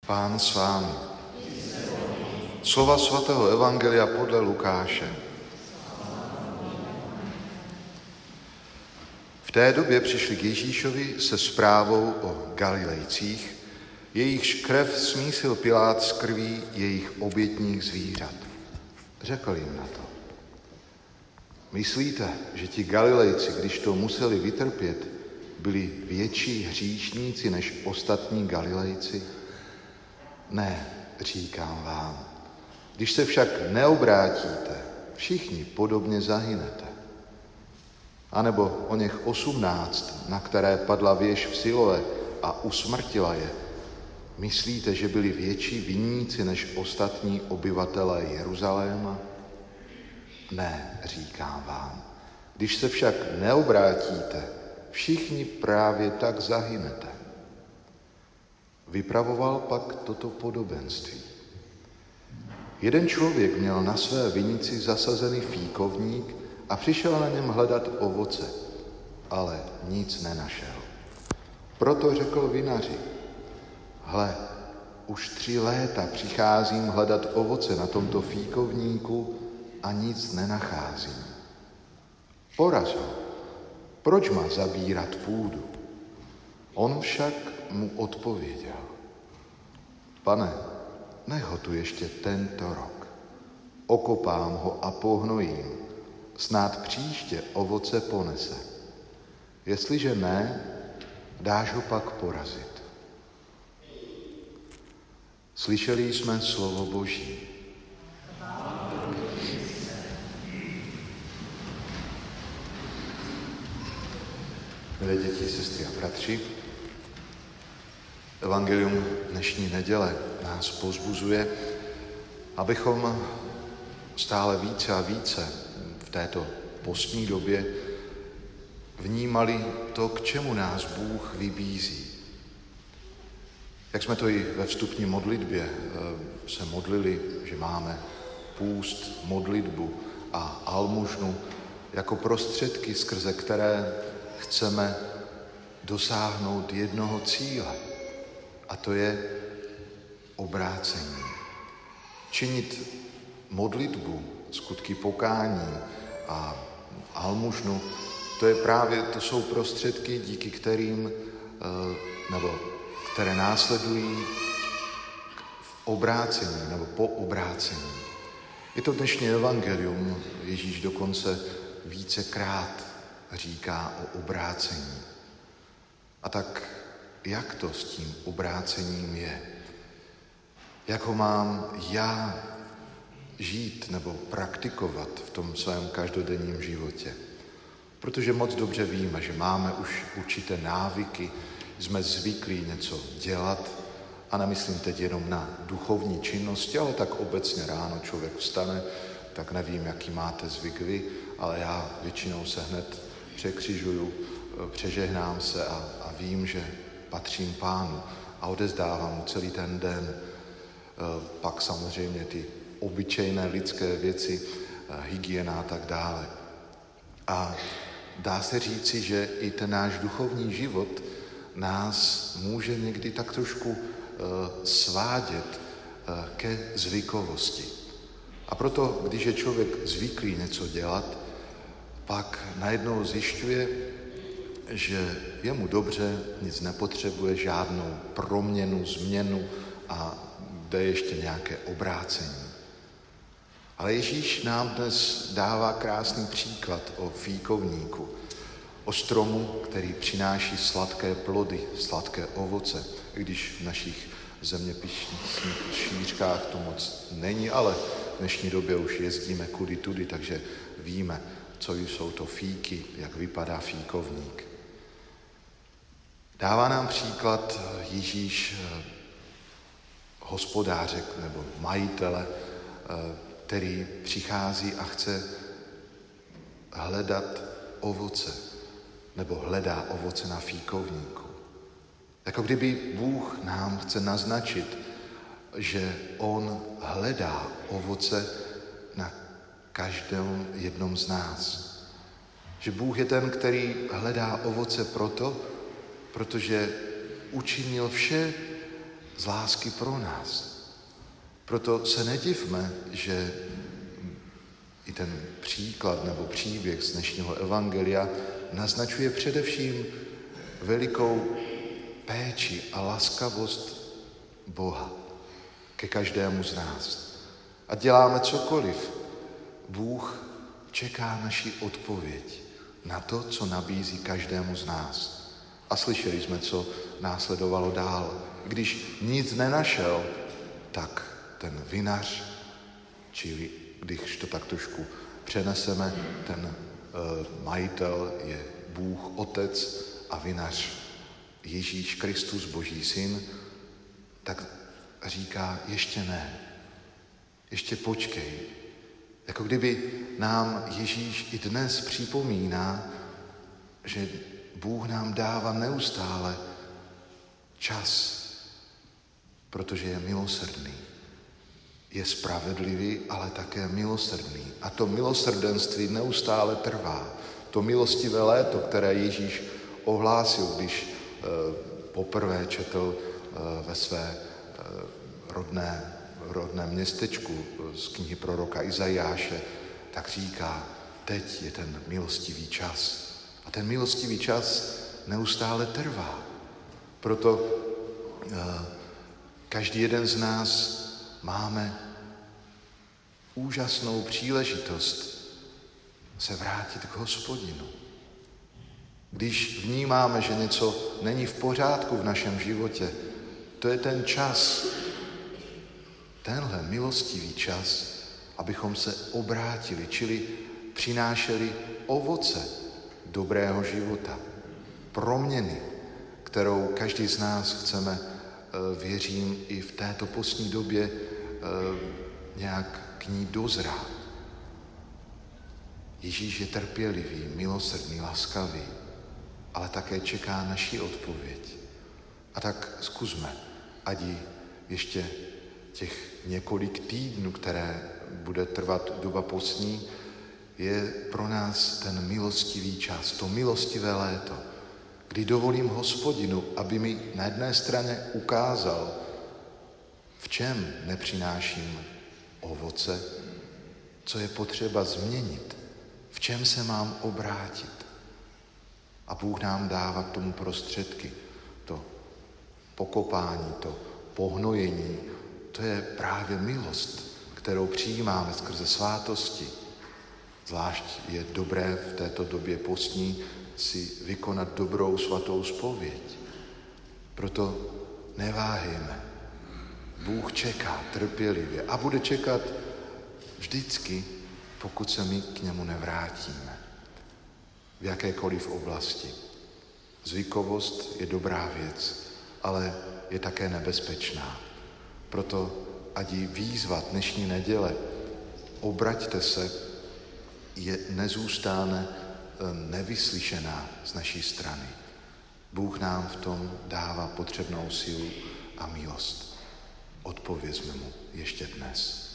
Pán s vámi. Slova svatého evangelia podle Lukáše. V té době přišli k Ježíšovi se zprávou o Galilejcích, jejichž krev smísil Pilát s krví jejich obětních zvířat. Řekl jim na to: Myslíte, že ti Galilejci, když to museli vytrpět, byli větší hříšníci než ostatní Galilejci? Ne, říkám vám. Když se však neobrátíte, všichni podobně zahynete. A nebo o něch 18, na které padla věž v Siloé a usmrtila je, myslíte, že byli větší viníci než ostatní obyvatelé Jeruzaléma? Ne, říkám vám. Když se však neobrátíte, všichni právě tak zahynete. Vypravoval pak toto podobenství. Jeden člověk měl na své vinici zasazený fíkovník a přišel na něm hledat ovoce, ale nic nenašel. Proto řekl vinaři: Hle, už 3 léta přicházím hledat ovoce na tomto fíkovníku a nic nenacházím. Poraz ho, proč má zabírat půdu? On však mu odpověděl: Pane, nech ho tu ještě tento rok. Okopám ho a pohnojím, snad příště ovoce ponese. Jestliže ne, dáš ho pak porazit. Slyšeli jsme slovo Boží. Milé děti, sestry a bratři, evangelium dnešní neděle nás povzbuzuje, abychom stále více a více v této postní době vnímali to, k čemu nás Bůh vybízí. Jak jsme to i ve vstupní modlitbě se modlili, že máme půst, modlitbu a almužnu jako prostředky, skrze které chceme dosáhnout jednoho cíle, a to je obrácení. Činit modlitbu, skutky pokání a almužnu, to jsou prostředky, díky kterým, nebo které následují v obrácení nebo po obrácení. Je to dnešní evangelium, Ježíš dokonce vícekrát říká o obrácení. A tak jak to s tím obrácením je? Jak ho mám já žít nebo praktikovat v tom svém každodenním životě? Protože moc dobře víme, že máme už určité návyky, jsme zvyklí něco dělat, a nemyslím teď jenom na duchovní činnosti, ale tak obecně ráno člověk vstane, tak nevím, jaký máte zvyk vy, ale já většinou se hned překřižuju, přežehnám se a vím, že patřím Pánu a odezdávám mu celý ten den. Pak samozřejmě ty obyčejné lidské věci, hygiena a tak dále. A dá se říci, že i ten náš duchovní život nás může někdy tak trošku svádět ke zvykovosti. A proto, když je člověk zvyklý něco dělat, pak najednou zjišťuje, že je mu dobře, nic nepotřebuje, žádnou proměnu, změnu a jde ještě nějaké obrácení. Ale Ježíš nám dnes dává krásný příklad o fíkovníku, o stromu, který přináší sladké plody, sladké ovoce, i když v našich zeměpisných šířkách to moc není, ale v dnešní době už jezdíme kudy tudy, takže víme, co jsou to fíky, jak vypadá fíkovník. Dává nám příklad Ježíš hospodáře nebo majitele, který přichází a chce hledat ovoce, nebo hledá ovoce na fíkovníku. Jako kdyby Bůh nám chce naznačit, že on hledá ovoce na každém jednom z nás. Že Bůh je ten, který hledá ovoce protože učinil vše z lásky pro nás. Proto se nedivme, že i ten příklad nebo příběh z dnešního evangelia naznačuje především velikou péči a laskavost Boha ke každému z nás. A děláme cokoliv, Bůh čeká naši odpověď na to, co nabízí každému z nás. A slyšeli jsme, co následovalo dál. Když nic nenašel, tak ten vinař, čili když to tak trošku přeneseme, ten majitel je Bůh Otec a vinař Ježíš Kristus, Boží syn, tak říká, ještě ne, ještě počkej. Jako kdyby nám Ježíš i dnes připomíná, že Bůh nám dává neustále čas, protože je milosrdný. Je spravedlivý, ale také milosrdný. A to milosrdenství neustále trvá. To milostivé léto, které Ježíš ohlásil, když poprvé četl ve své rodném městečku z knihy proroka Izajáše, tak říká, teď je ten milostivý čas. A ten milostivý čas neustále trvá. Proto každý jeden z nás máme úžasnou příležitost se vrátit k Hospodinu. Když vnímáme, že něco není v pořádku v našem životě, to je ten čas, tenhle milostivý čas, abychom se obrátili, čili přinášeli ovoce dobrého života, proměny, kterou každý z nás chceme, věřím, i v této postní době nějak k ní dozrát. Ježíš je trpělivý, milosrdný, laskavý, ale také čeká naši odpověď. A tak zkusme, ať ještě těch několik týdnů, které bude trvat doba postní, je pro nás ten milostivý čas, to milostivé léto, kdy dovolím Hospodinu, aby mi na jedné straně ukázal, v čem nepřináším ovoce, co je potřeba změnit, v čem se mám obrátit. A Bůh nám dává k tomu prostředky. To pokopání, to pohnojení, to je právě milost, kterou přijímáme skrze svátosti. Zvlášť je dobré v této době postní si vykonat dobrou svatou zpověď. Proto neváhejme. Bůh čeká trpělivě a bude čekat vždycky, pokud se my k němu nevrátíme. V jakékoliv oblasti. Zvykovost je dobrá věc, ale je také nebezpečná. Proto ať jí výzva dnešní neděle, obraťte se, nezůstane nevyslyšená z naší strany. Bůh nám v tom dává potřebnou sílu a milost. Odpovězme mu ještě dnes.